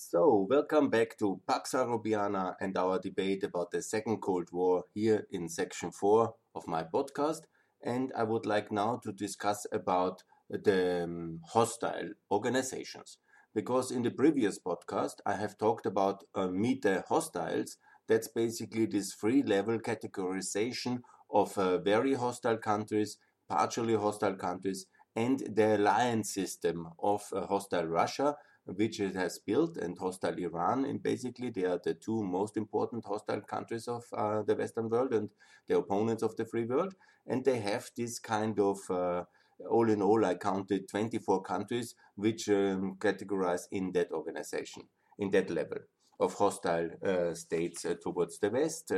So, welcome back to Pax Europiana and our debate about the Second Cold War here in section 4 of my podcast. And I would like now to discuss about the hostile organizations. Because in the previous podcast, I have talked about Meet the Hostiles. That's basically this three-level categorization of very hostile countries, partially hostile countries, and the alliance system of hostile Russia, which it has built, and hostile Iran. And basically, they are the two most important hostile countries of the Western world and the opponents of the free world. And they have this kind of, all in all, I counted 24 countries which categorize in that organization, in that level of hostile states towards the West,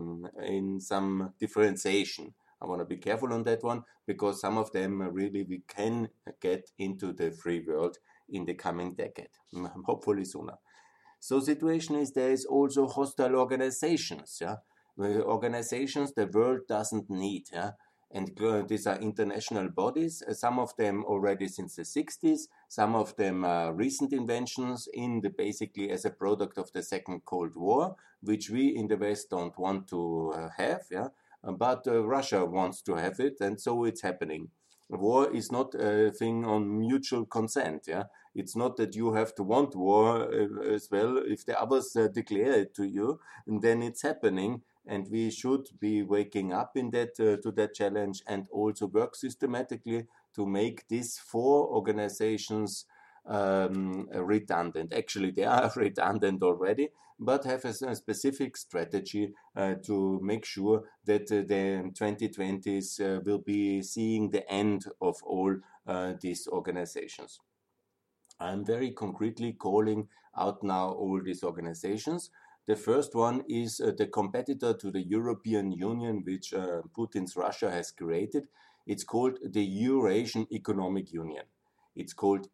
in some differentiation. I want to be careful on that one, because some of them really we can get into the free world in the coming decade, hopefully sooner. So situation is there is also hostile organizations, organizations the world doesn't need, and these are international bodies, some of them already since the 60s, some of them are recent inventions basically as a product of the Second Cold War, which we in the West don't want to have, but Russia wants to have it, and so it's happening. War is not a thing on mutual consent. It's not that you have to want war as well. If the others declare it to you, and then it's happening. And we should be waking up in that to that challenge, and also work systematically to make these four organizations redundant. Actually, they are redundant already, but have a specific strategy to make sure that the 2020s will be seeing the end of all these organizations. I'm very concretely calling out now all these organizations. The first one is the competitor to the European Union, which Putin's Russia has created. It's called the Eurasian Economic Union. It's called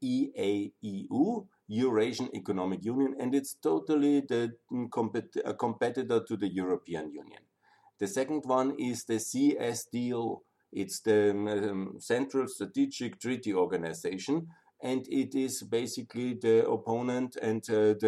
EAEU, Eurasian Economic Union, and it's totally the competitor to the European Union. The second one is the CSTO. It's the Central Strategic Treaty Organization, and it is basically the opponent and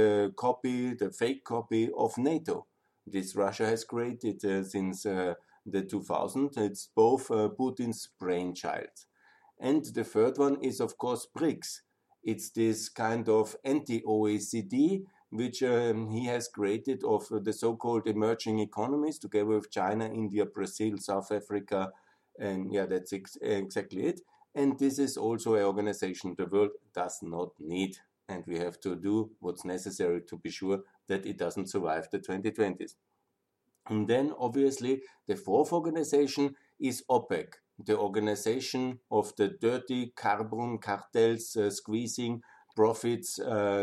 the fake copy of NATO. This Russia has created since the 2000s. It's both Putin's brainchild. And the third one is, of course, BRICS. It's this kind of anti-OECD, which he has created of the so-called emerging economies, together with China, India, Brazil, South Africa, and that's exactly it. And this is also an organization the world does not need, and we have to do what's necessary to be sure that it doesn't survive the 2020s. And then, obviously, the fourth organization is OPEC, the organization of the dirty carbon cartels squeezing profits,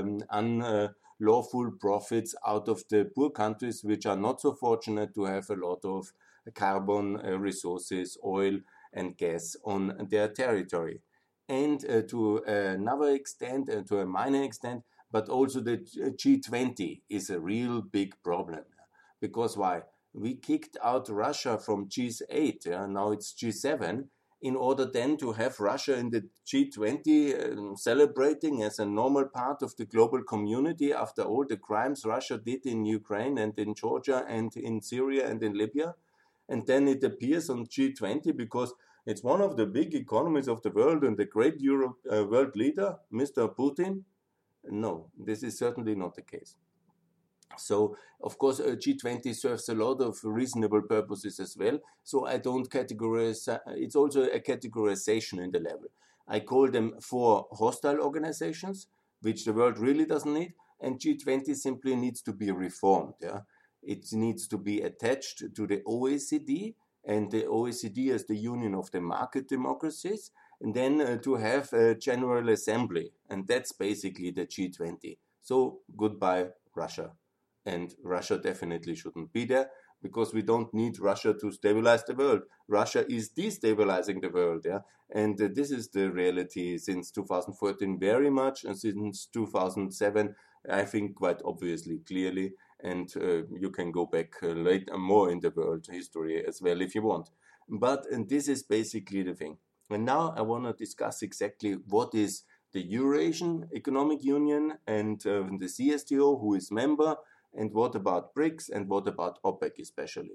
unlawful profits out of the poor countries, which are not so fortunate to have a lot of carbon resources, oil and gas on their territory. And to another extent, to a minor extent, but also the G20 is a real big problem. Because why? We kicked out Russia from G8, now it's G7, in order then to have Russia in the G20 celebrating as a normal part of the global community after all the crimes Russia did in Ukraine and in Georgia and in Syria and in Libya. And then it appears on G20 because it's one of the big economies of the world and the great world leader, Mr. Putin. No, this is certainly not the case. So, of course, G20 serves a lot of reasonable purposes as well. So I don't categorize, it's also a categorization in the level. I call them four hostile organizations, which the world really doesn't need, and G20 simply needs to be reformed. It needs to be attached to the OECD, and the OECD as the union of the market democracies, and then to have a General Assembly, and that's basically the G20. So goodbye, Russia. And Russia definitely shouldn't be there, because we don't need Russia to stabilize the world. Russia is destabilizing the world, and this is the reality since 2014 very much, and since 2007, I think quite obviously, clearly, and you can go back later more in the world history as well if you want. But and this is basically the thing. And now I want to discuss exactly what is the Eurasian Economic Union and the CSTO, who is member, and what about BRICS, and what about OPEC especially.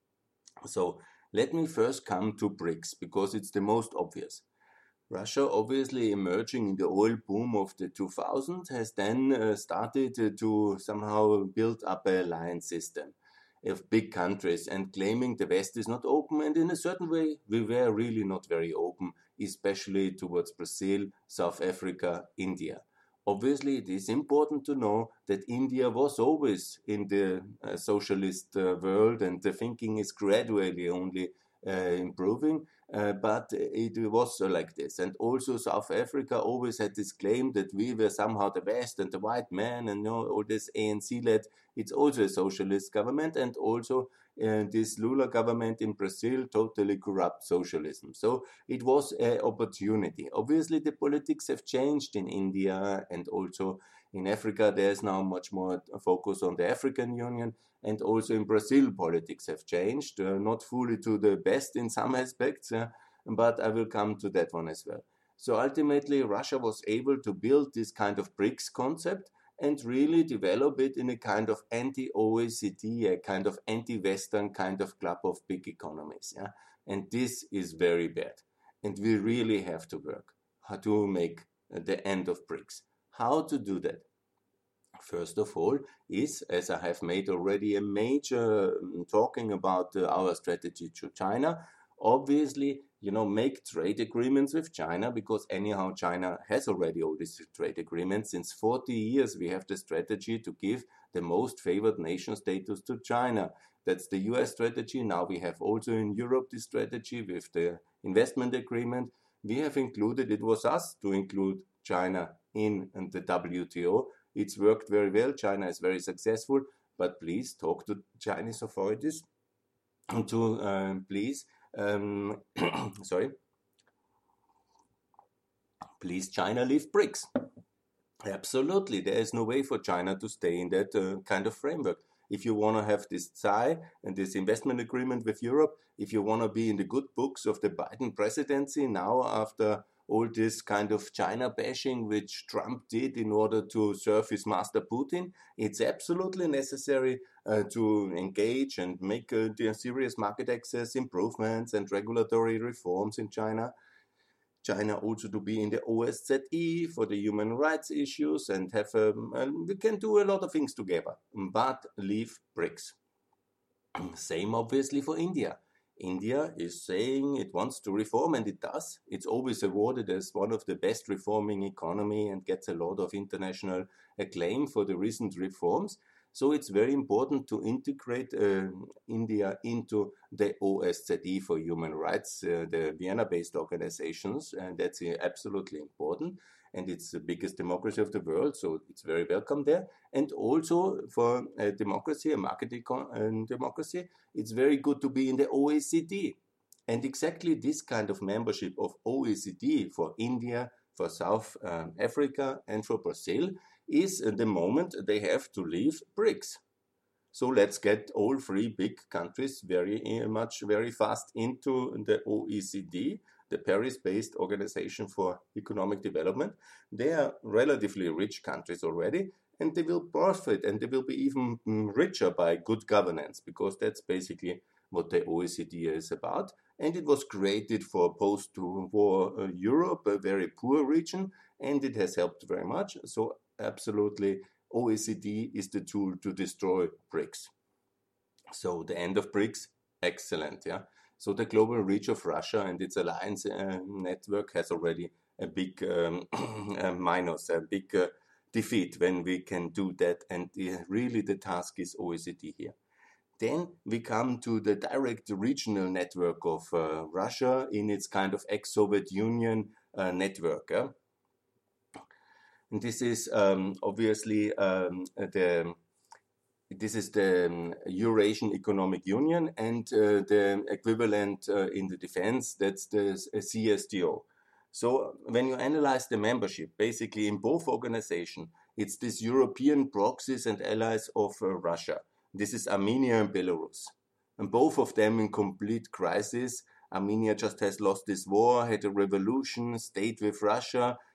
So let me first come to BRICS, because it's the most obvious. Russia, obviously emerging in the oil boom of the 2000s, has then started to somehow build up an alliance system of big countries and claiming the West is not open. And in a certain way, we were really not very open, especially towards Brazil, South Africa, India. Obviously, it is important to know that India was always in the socialist world, and the thinking is gradually only improving. But it was like this. And also South Africa always had this claim that we were somehow the West and the white man, and all this ANC-led. It's also a socialist government, and also this Lula government in Brazil, totally corrupt socialism. So it was an opportunity. Obviously, the politics have changed in India, and also in Africa, there's now much more focus on the African Union. And also in Brazil, politics have changed, not fully to the best in some aspects, but I will come to that one as well. So ultimately, Russia was able to build this kind of BRICS concept and really develop it in a kind of anti-OECD, a kind of anti-Western kind of club of big economies. Yeah? And this is very bad. And we really have to work to make the end of BRICS. How to do that? First of all is, as I have made already a major talking about our strategy to China, obviously, make trade agreements with China, because anyhow China has already all these trade agreements. Since 40 years we have the strategy to give the most favored nation status to China. That's the US strategy. Now we have also in Europe this strategy with the investment agreement. We have included, it was us to include China in the WTO. It's worked very well. China is very successful, but please talk to Chinese authorities to please China leave BRICS. Absolutely, there is no way for China to stay in that kind of framework. If you want to have this TSAI and this investment agreement with Europe, if you want to be in the good books of the Biden presidency now after all this kind of China bashing which Trump did in order to serve his master Putin, it's absolutely necessary to engage and make serious market access improvements and regulatory reforms in China. China also to be in the OSCE for the human rights issues and have we can do a lot of things together, but leave BRICS. Same obviously for India. India is saying it wants to reform, and it does. It's always awarded as one of the best reforming economy and gets a lot of international acclaim for the recent reforms. So it's very important to integrate India into the OSCE for human rights, the Vienna-based organizations, and that's absolutely important. And it's the biggest democracy of the world, so it's very welcome there. And also for a democracy, a market democracy, it's very good to be in the OECD. And exactly this kind of membership of OECD for India, for South Africa, and for Brazil is the moment they have to leave BRICS. So let's get all three big countries very fast into the OECD, the Paris-based Organization for Economic Development. They are relatively rich countries already, and they will profit, and they will be even richer by good governance, because that's basically what the OECD is about. And it was created for post-war Europe, a very poor region, and it has helped very much. So absolutely, OECD is the tool to destroy BRICS. So the end of BRICS, excellent, yeah. So the global reach of Russia and its alliance network has already a big minus, a big defeat when we can do that. And really the task is OECD here. Then we come to the direct regional network of Russia in its kind of ex-Soviet Union network. And this is obviously this is the Eurasian Economic Union, and the equivalent in the defense, that's the CSTO. So when you analyze the membership, basically in both organizations, it's this European proxies and allies of Russia. This is Armenia and Belarus. And both of them in complete crisis. Armenia just has lost this war, had a revolution, stayed with Russia,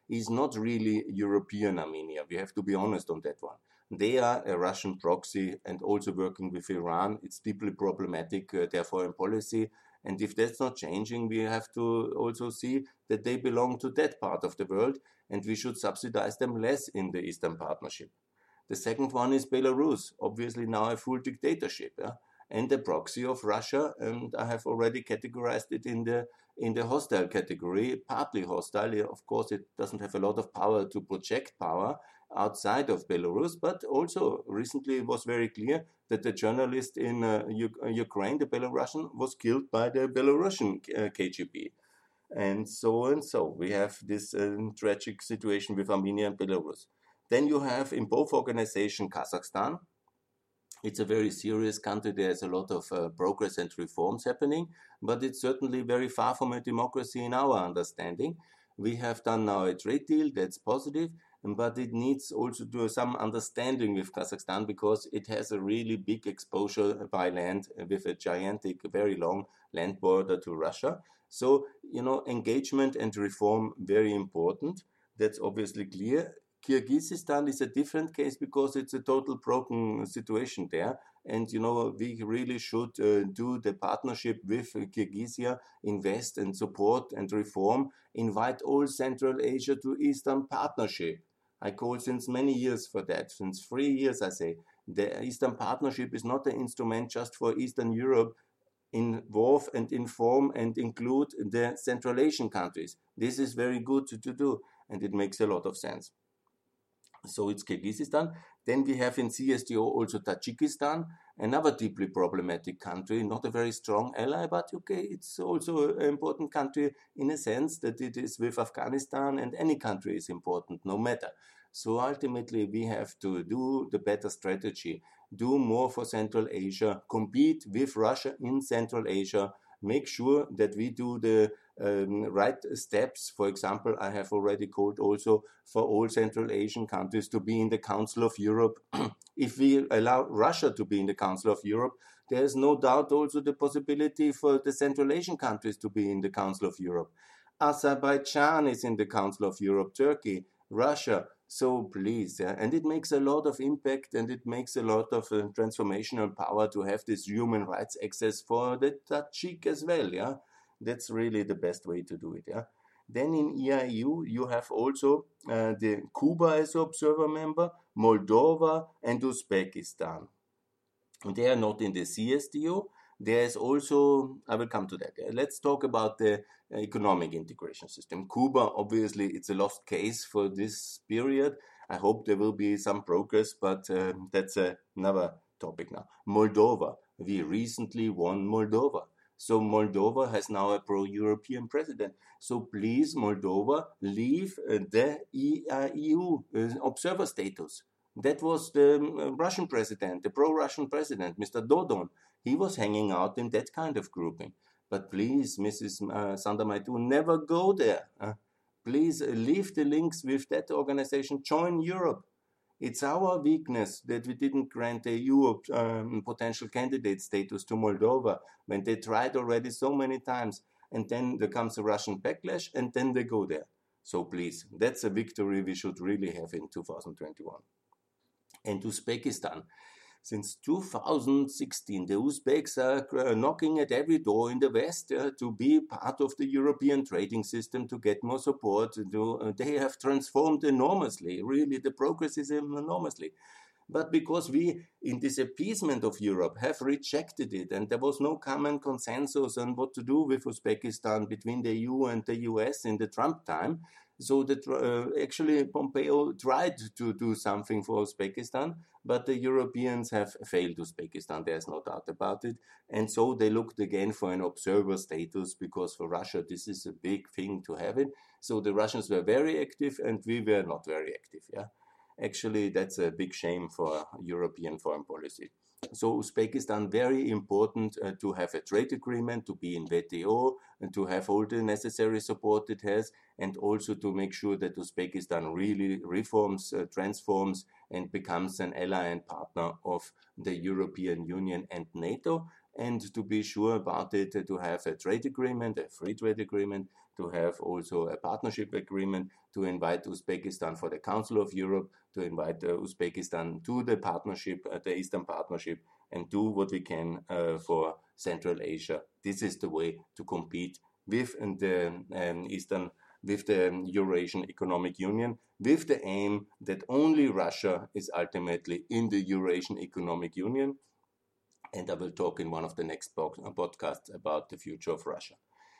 is not really European Armenia. We have to be honest on that one. They are a Russian proxy and also working with Iran. It's deeply problematic, their foreign policy. And if that's not changing, we have to also see that they belong to that part of the world, and we should subsidize them less in the Eastern Partnership. The second one is Belarus, obviously now a full dictatorship, yeah? And a proxy of Russia, and I have already categorized it in the hostile category, partly hostile. Of course, it doesn't have a lot of power to project power outside of Belarus, but also recently it was very clear that the journalist in Ukraine, the Belarusian, was killed by the Belarusian KGB. And so. We have this tragic situation with Armenia and Belarus. Then you have in both organizations Kazakhstan. It's a very serious country. There's a lot of progress and reforms happening, but it's certainly very far from a democracy in our understanding. We have done now a trade deal that's positive, but it needs also to some understanding with Kazakhstan because it has a really big exposure by land with a gigantic, very long land border to Russia. So, engagement and reform, very important. That's obviously clear. Kyrgyzstan is a different case because it's a total broken situation there. And, we really should do the partnership with Kyrgyzstan, invest and support and reform, invite all Central Asia to Eastern Partnership. I call since many years for that, since 3 years I say. The Eastern Partnership is not an instrument just for Eastern Europe. Involve and inform and include the Central Asian countries. This is very good to do, and it makes a lot of sense. So it's Kyrgyzstan. Then we have in CSTO also Tajikistan, another deeply problematic country, not a very strong ally, but okay, it's also an important country in a sense that it is with Afghanistan, and any country is important, no matter. So ultimately we have to do the better strategy, do more for Central Asia, compete with Russia in Central Asia, make sure that we do the right steps. For example, I have already called also for all Central Asian countries to be in the Council of Europe. If we allow Russia to be in the Council of Europe, there is no doubt also the possibility for the Central Asian countries to be in the Council of Europe. Azerbaijan is in the Council of Europe, Turkey, Russia. So please, and it makes a lot of impact and it makes a lot of transformational power to have this human rights access for the Tajik as well, yeah. That's really the best way to do it, yeah. Then in EIU, you have also the Cuba as observer member, Moldova and Uzbekistan. They are not in the CSTO. There is also, I will come to that. Let's talk about the economic integration system. Cuba, obviously, it's a lost case for this period. I hope there will be some progress, but that's another topic now. Moldova, we recently won Moldova. So Moldova has now a pro-European president. So please, Moldova, leave the EU observer status. That was the Russian president, the pro-Russian president, Mr. Dodon. He was hanging out in that kind of grouping. But please, Mrs. Sandamaytu, never go there. Please leave the links with that organization. Join Europe. It's our weakness that we didn't grant the EU potential candidate status to Moldova when they tried already so many times. And then there comes a Russian backlash and then they go there. So please, that's a victory we should really have in 2021. And Uzbekistan. Since 2016, the Uzbeks are knocking at every door in the West to be part of the European trading system, to get more support. They have transformed enormously. Really, the progress is enormously. But because we, in this appeasement of Europe, have rejected it, and there was no common consensus on what to do with Uzbekistan between the EU and the US in the Trump time, so that actually Pompeo tried to do something for Uzbekistan, but the Europeans have failed Uzbekistan, there's no doubt about it. And so they looked again for an observer status, because for Russia this is a big thing to have it. So the Russians were very active and we were not very active. Yeah, actually that's a big shame for European foreign policy. So Uzbekistan, very important to have a trade agreement, to be in WTO, and to have all the necessary support it has, and also to make sure that Uzbekistan really reforms, transforms, and becomes an ally and partner of the European Union and NATO. And to be sure about it, to have a trade agreement, a free trade agreement, to have also a partnership agreement, to invite Uzbekistan for the Council of Europe, to invite Uzbekistan to the partnership, the Eastern Partnership, and do what we can for Central Asia. This is the way to compete with the Eurasian Economic Union, with the aim that only Russia is ultimately in the Eurasian Economic Union. And I will talk in one of the next podcasts about the future of Russia.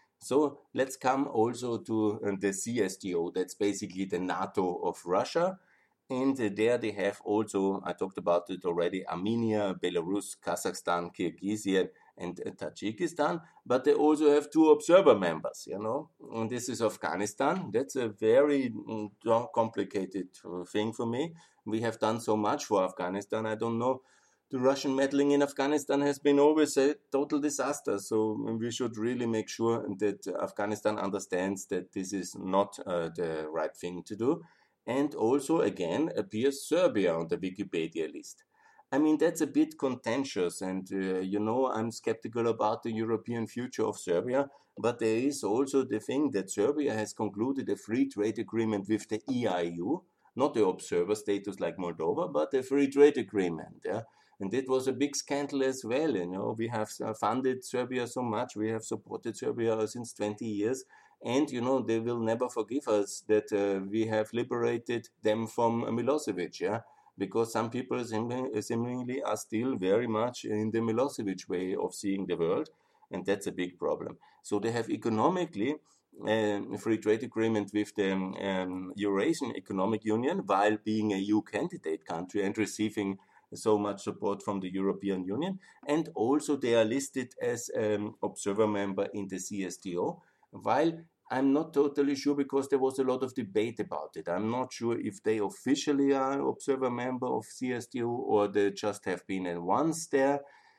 So let's come also to the CSTO. That's basically the NATO of Russia. And there they have also, I talked about it already, Armenia, Belarus, Kazakhstan, Kyrgyzstan, and Tajikistan. But they also have 2 observer members, And this is Afghanistan. That's a very complicated thing for me. We have done so much for Afghanistan. I don't know. The Russian meddling in Afghanistan has been always a total disaster. So we should really make sure that Afghanistan understands that this is not the right thing to do. And also, again, appears Serbia on the Wikipedia list. I mean, that's a bit contentious, and I'm skeptical about the European future of Serbia, but there is also the thing that Serbia has concluded a free trade agreement with the EIU, not the observer status like Moldova, but a free trade agreement. Yeah? And that was a big scandal as well. We have funded Serbia so much, we have supported Serbia since 20 years. And, they will never forgive us that we have liberated them from Milosevic, yeah? Because some people seemingly are still very much in the Milosevic way of seeing the world, and that's a big problem. So they have economically a free trade agreement with the Eurasian Economic Union while being a EU candidate country and receiving so much support from the European Union. And also they are listed as observer member in the CSTO, while I'm not totally sure because there was a lot of debate about it. I'm not sure if they officially are observer member of CSTO or they just have been once there.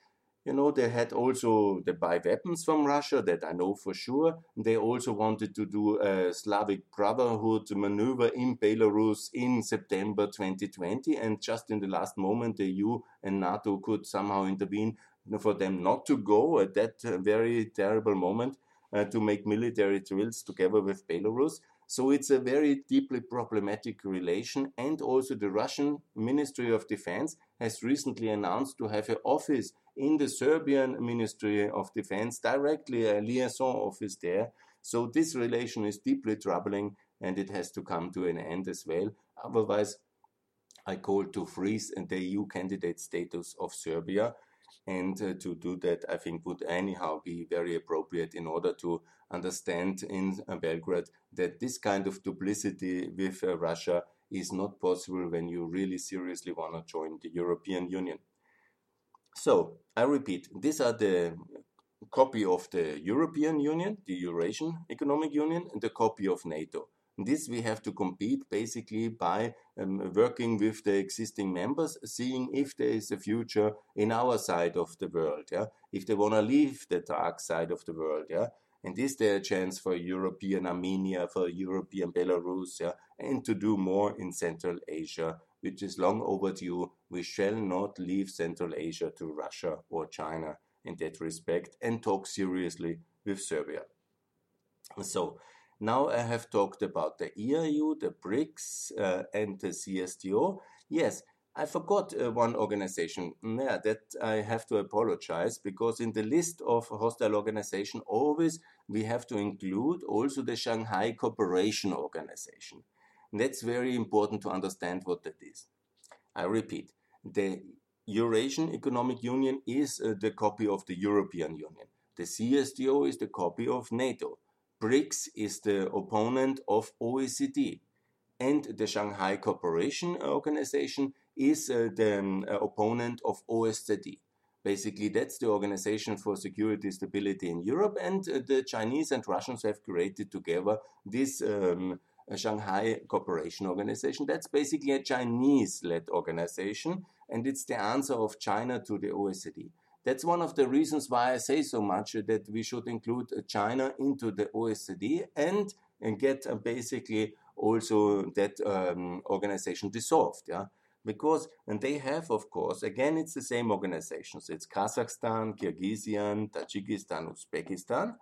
They had also the buy weapons from Russia, that I know for sure. They also wanted to do a Slavic Brotherhood maneuver in Belarus in September 2020. And just in the last moment, the EU and NATO could somehow intervene for them not to go at that very terrible moment. To make military drills together with Belarus. So it's a very deeply problematic relation. And also the Russian Ministry of Defense has recently announced to have an office in the Serbian Ministry of Defense, directly a liaison office there. So this relation is deeply troubling and it has to come to an end as well. Otherwise, I call to freeze the EU candidate status of Serbia. And to do that, I think, would anyhow be very appropriate in order to understand in Belgrade that this kind of duplicity with Russia is not possible when you really seriously want to join the European Union. So, I repeat, these are the copy of the European Union, the Eurasian Economic Union, and the copy of NATO. This we have to compete basically by working with the existing members, seeing if there is a future in our side of the world, yeah? If they want to leave the dark side of the world, yeah? And is there a chance for European Armenia, for European Belarus, yeah? And to do more in Central Asia, which is long overdue. We shall not leave Central Asia to Russia or China in that respect and talk seriously with Serbia. So, now I have talked about the EIU, the BRICS, and the CSTO. Yes, I forgot one organization. Yeah, that I have to apologize because in the list of hostile organization, always we have to include also the Shanghai Cooperation Organization. And that's very important to understand what that is. I repeat, the Eurasian Economic Union is the copy of the European Union. The CSTO is the copy of NATO. BRICS is the opponent of OECD, and the Shanghai Cooperation Organization is the opponent of OSCE. Basically, that's the Organization for Security and Stability in Europe, and the Chinese and Russians have created together this Shanghai Cooperation Organization. That's basically a Chinese-led organization, and it's the answer of China to the OECD. That's one of the reasons why I say so much that we should include China into the OECD and get basically also that organization dissolved, yeah. Because, and they have, of course, again, it's the same organizations. It's Kazakhstan, Kyrgyzstan, Tajikistan, Uzbekistan.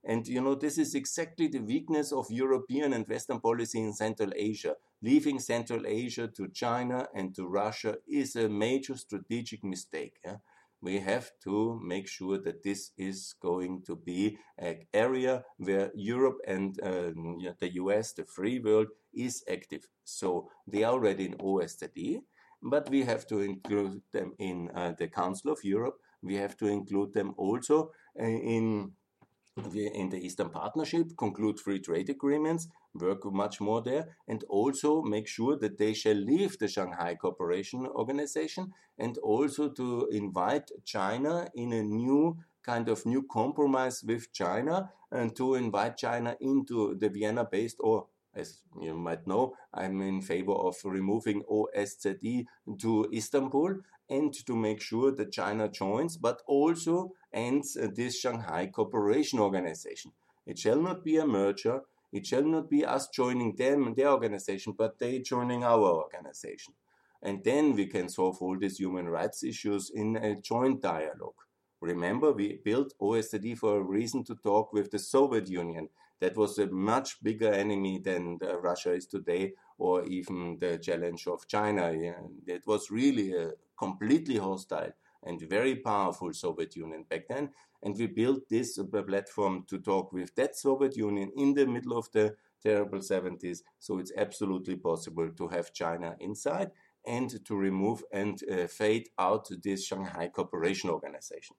And this is exactly the weakness of European and Western policy in Central Asia. Leaving Central Asia to China and to Russia is a major strategic mistake. Yeah? We have to make sure that this is going to be an area where Europe and the US, the free world, is active. So they are already in OSCE, but we have to include them in the Council of Europe. We have to include them also in the Eastern Partnership, conclude free trade agreements, work much more there, and also make sure that they shall leave the Shanghai Cooperation Organization, and also to invite China in a new compromise with China, and to invite China into the Vienna-based, or as you might know, I'm in favor of removing OSCE to Istanbul, and to make sure that China joins, but also ends this Shanghai Cooperation Organization. It shall not be a merger. It shall not be us joining them and their organization, but they joining our organization. And then we can solve all these human rights issues in a joint dialogue. Remember, we built OSCE for a reason, to talk with the Soviet Union. That was a much bigger enemy than Russia is today, or even the challenge of China. Yeah. It was really a completely hostile and very powerful Soviet Union back then. And we built this platform to talk with that Soviet Union in the middle of the terrible 70s. So it's absolutely possible to have China inside and to remove and fade out this Shanghai Cooperation Organization.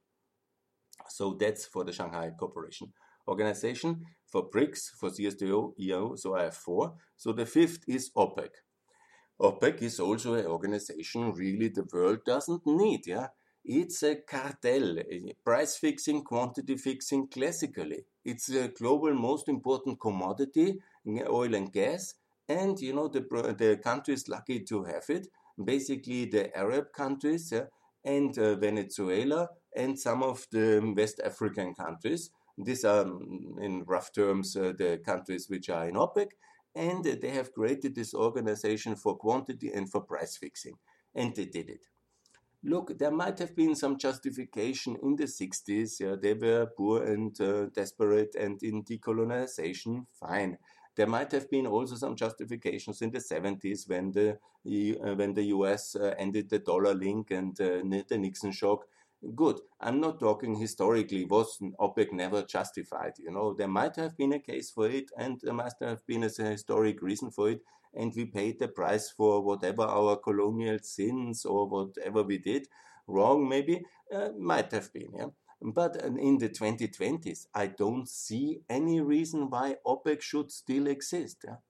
So that's for the Shanghai Cooperation Organization. For BRICS, for CSTO, EO, so I have 4. So the 5th is OPEC. OPEC is also an organization really the world doesn't need. Yeah, it's a cartel, price fixing, quantity fixing classically. It's a global most important commodity, oil and gas, and the countries lucky to have it, basically the Arab countries, and Venezuela and some of the West African countries. These are, in rough terms, the countries which are in OPEC, and they have created this organization for quantity and for price fixing, and they did it. Look, there might have been some justification in the 60s. Yeah, they were poor and desperate and in decolonization, fine. There might have been also some justifications in the 70s when the US ended the dollar link and the Nixon shock. Good. I'm not talking historically. Was OPEC never justified? There might have been a case for it, and there must have been a historic reason for it, and we paid the price for whatever our colonial sins or whatever we did wrong, maybe, might have been, yeah. But in the 2020s, I don't see any reason why OPEC should still exist, yeah.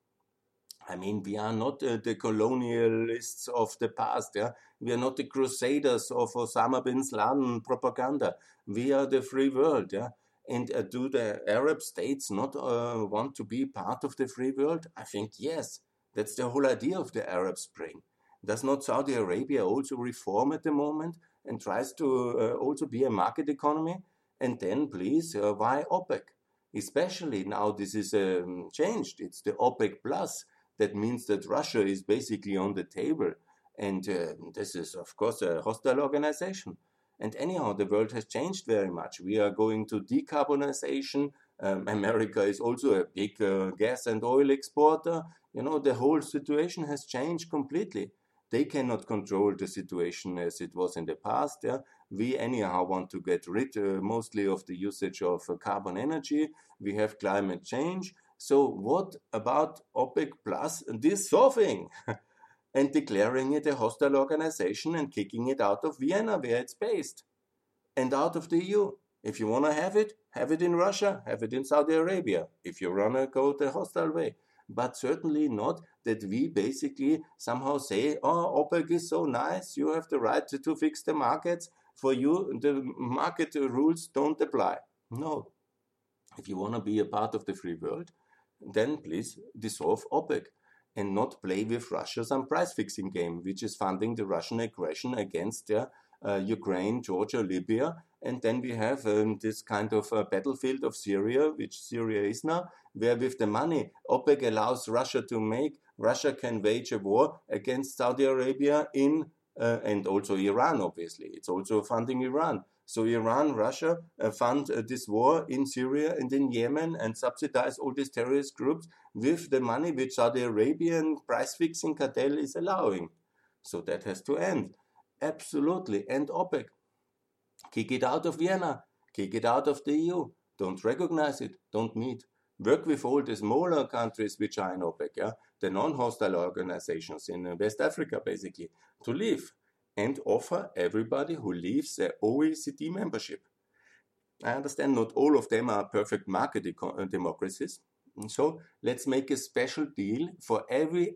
I mean, we are not the colonialists of the past. Yeah? We are not the crusaders of Osama bin Laden propaganda. We are the free world. Yeah? And do the Arab states not want to be part of the free world? I think yes. That's the whole idea of the Arab Spring. Does not Saudi Arabia also reform at the moment and tries to also be a market economy? And then, please, why OPEC? Especially now this is changed. It's the OPEC Plus. That means that Russia is basically on the table. And this is, of course, a hostile organization. And anyhow, the world has changed very much. We are going to decarbonization. America is also a big gas and oil exporter. The whole situation has changed completely. They cannot control the situation as it was in the past. Yeah? We anyhow want to get rid mostly of the usage of carbon energy. We have climate change. So what about OPEC Plus dissolving and declaring it a hostile organization and kicking it out of Vienna where it's based and out of the EU? If you want to have it in Russia, have it in Saudi Arabia, if you want to go the hostile way. But certainly not that we basically somehow say, oh, OPEC is so nice, you have the right to fix the markets. For you, the market rules don't apply. No. If you want to be a part of the free world, then please dissolve OPEC and not play with Russia some price-fixing game, which is funding the Russian aggression against Ukraine, Georgia, Libya. And then we have this kind of battlefield of Syria, which Syria is now, where with the money OPEC allows Russia to make, Russia can wage a war against Saudi Arabia in and also Iran, obviously. It's also funding Iran. So Iran, Russia fund this war in Syria and in Yemen and subsidize all these terrorist groups with the money which Saudi Arabian price-fixing cartel is allowing. So that has to end. Absolutely. And OPEC. Kick it out of Vienna. Kick it out of the EU. Don't recognize it. Don't meet. Work with all the smaller countries which are in OPEC, yeah? The non-hostile organizations in West Africa, basically, to leave and offer everybody who leaves their OECD membership. I understand not all of them are perfect market democracies. So let's make a special deal for every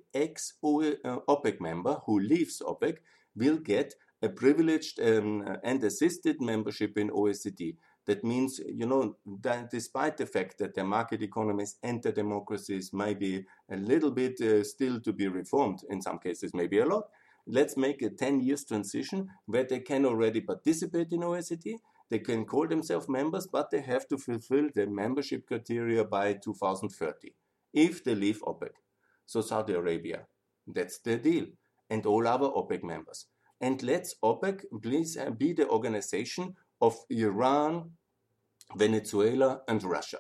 ex-OPEC member who leaves OPEC will get a privileged and assisted membership in OECD. That means, that despite the fact that the market economies and the democracies might be a little bit still to be reformed, in some cases maybe a lot, let's make a 10 years transition where they can already participate in OECD. They can call themselves members, but they have to fulfill the membership criteria by 2030 if they leave OPEC. So Saudi Arabia, that's the deal, and all other OPEC members. And let's OPEC please be the organization of Iran, Venezuela, and Russia.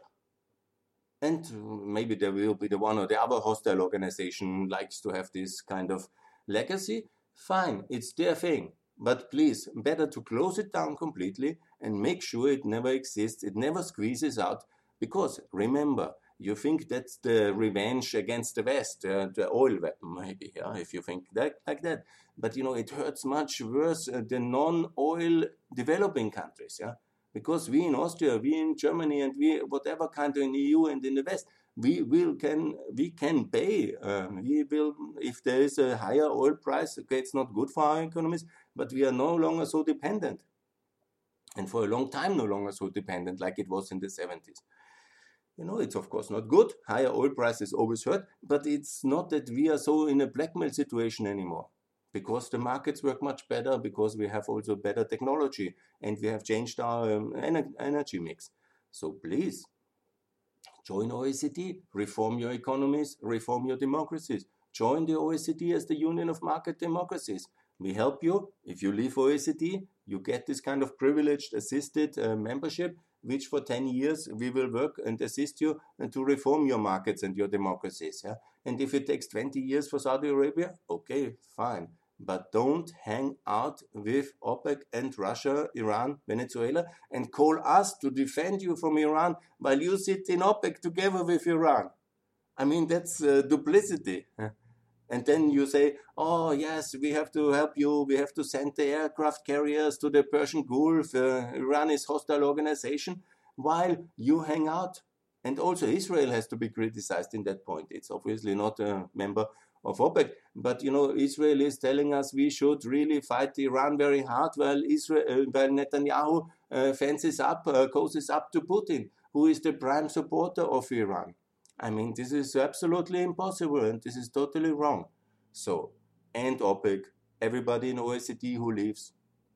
And maybe there will be the one or the other hostile organization likes to have this kind of legacy. Fine, it's their thing. But please, better to close it down completely and make sure it never exists, it never squeezes out. Because remember, you think that's the revenge against the West, the oil weapon, maybe, yeah, if you think that like that. But it hurts much worse the non-oil developing countries, yeah. Because we in Austria, we in Germany, and we whatever country in the EU and in the West, we can pay. We will, if there is a higher oil price. Okay, it's not good for our economies, but we are no longer so dependent, and for a long time no longer so dependent like it was in the 70s. It's of course not good. Higher oil prices always hurt, but it's not that we are so in a blackmail situation anymore. Because the markets work much better, because we have also better technology, and we have changed our energy mix. So please, join OECD, reform your economies, reform your democracies. Join the OECD as the Union of Market Democracies. We help you. If you leave OECD, you get this kind of privileged assisted membership, which for 10 years we will work and assist you to reform your markets and your democracies. Yeah? And if it takes 20 years for Saudi Arabia, okay, fine. But don't hang out with OPEC and Russia, Iran, Venezuela, and call us to defend you from Iran while you sit in OPEC together with Iran. I mean, that's duplicity. And then you say, oh, yes, we have to help you. We have to send the aircraft carriers to the Persian Gulf. Iran is a hostile organization, while you hang out. And also Israel has to be criticized in that point. It's obviously not a member of OPEC. But, Israel is telling us we should really fight Iran very hard while Netanyahu fences up, cozies up to Putin, who is the prime supporter of Iran. I mean, this is absolutely impossible, and this is totally wrong. So, and OPEC, everybody in OECD who leaves,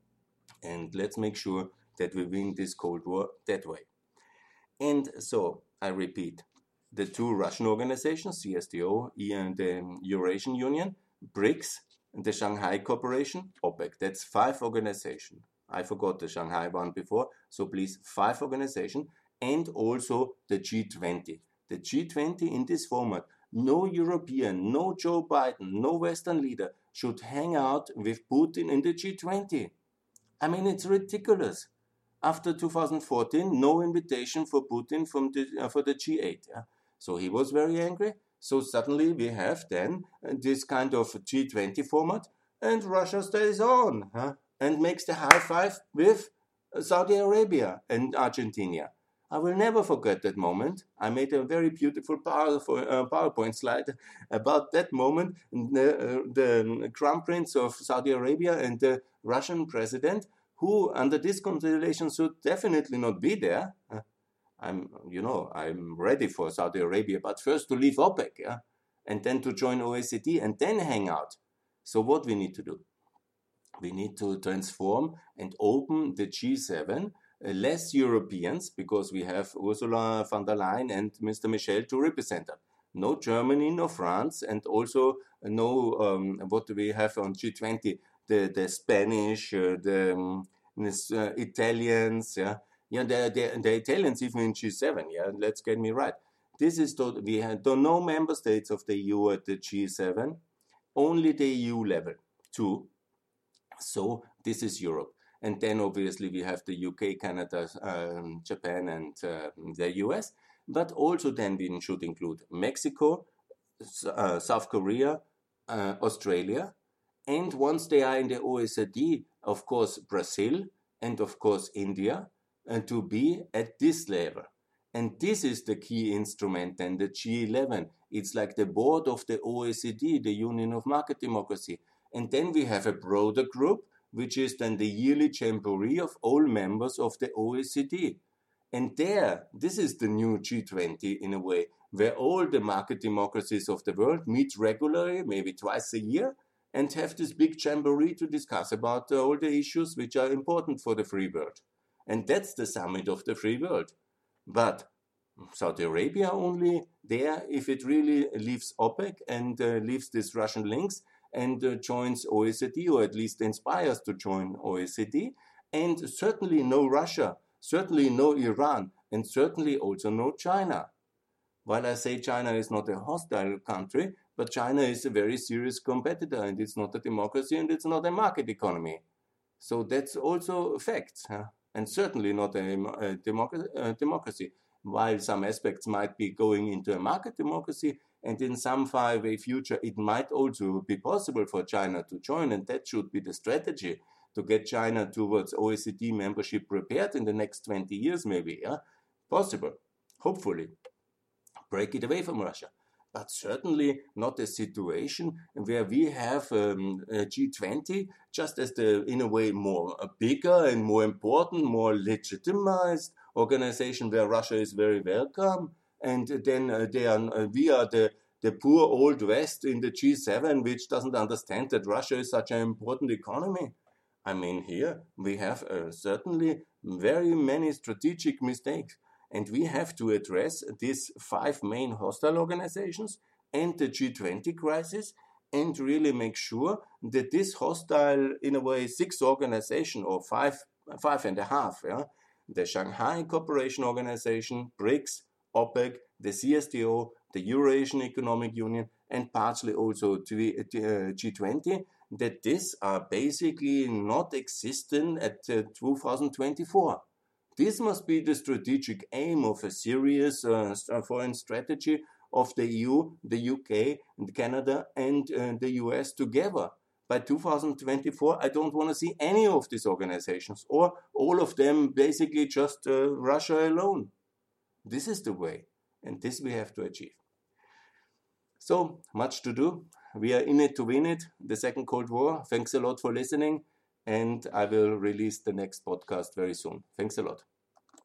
and let's make sure that we win this Cold War that way. And so, I repeat, the two Russian organizations, CSTO and the Eurasian Union, BRICS, the Shanghai Cooperation, OPEC. That's 5 organizations. I forgot the Shanghai one before, so please, 5 organizations, and also the G20. The G20 in this format, no European, no Joe Biden, no Western leader should hang out with Putin in the G20. I mean, it's ridiculous. After 2014, no invitation for Putin for the G8. Yeah? So he was very angry. So suddenly we have then this kind of G20 format, and Russia stays on and makes the high five with Saudi Arabia and Argentina. I will never forget that moment. I made a very beautiful PowerPoint slide about that moment. The Crown Prince of Saudi Arabia and the Russian president, who under this constellation should definitely not be there. I'm ready for Saudi Arabia, but first to leave OPEC, yeah? And then to join OECD and then hang out. So what we need to do? We need to transform and open the G7, less Europeans, because we have Ursula von der Leyen and Mr. Michel to represent them. No Germany, no France, and also no what we have on G20, the Spanish, Italians, the Italians even in G7. Yeah, let's get me right. This is we had no member states of the EU at the G7, only the EU level, 2. So this is Europe. And then obviously we have the UK, Canada, Japan, and the US. But also then we should include Mexico, South Korea, Australia. And once they are in the OECD, of course, Brazil and of course India, to be at this level. And this is the key instrument then, the G11. It's like the board of the OECD, the Union of Market Democracy. And then we have a broader group, which is then the yearly jamboree of all members of the OECD. And there, this is the new G20 in a way, where all the market democracies of the world meet regularly, maybe twice a year, and have this big jamboree to discuss about all the issues which are important for the free world. And that's the summit of the free world. But Saudi Arabia only there, if it really leaves OPEC and leaves these Russian links and joins OECD, or at least inspires to join OECD, and certainly no Russia, certainly no Iran, and certainly also no China. While I say China is not a hostile country, but China is a very serious competitor, and it's not a democracy, and it's not a market economy. So that's also a fact, and certainly not a democracy. While some aspects might be going into a market democracy, and in some faraway future it might also be possible for China to join, and that should be the strategy to get China towards OECD membership prepared in the next 20 years maybe, possible, hopefully. Break it away from Russia. But certainly not a situation where we have a G20 just as the, in a way, more bigger and more important, more legitimized organization where Russia is very welcome. And then we are the poor old West in the G7, which doesn't understand that Russia is such an important economy. I mean, here we have certainly very many strategic mistakes. And we have to address these 5 main hostile organizations and the G20 crisis and really make sure that this hostile, in a way, 6 organization or 5.5, the Shanghai Cooperation Organization, BRICS, OPEC, the CSTO, the Eurasian Economic Union, and partially also G20, that these are basically not existent at 2024. This must be the strategic aim of a serious foreign strategy of the EU, the UK, and Canada, and the US together. By 2024, I don't want to see any of these organizations, or all of them basically just Russia alone. This is the way, and this we have to achieve. So, much to do. We are in it to win it, the second Cold War. Thanks a lot for listening, and I will release the next podcast very soon. Thanks a lot.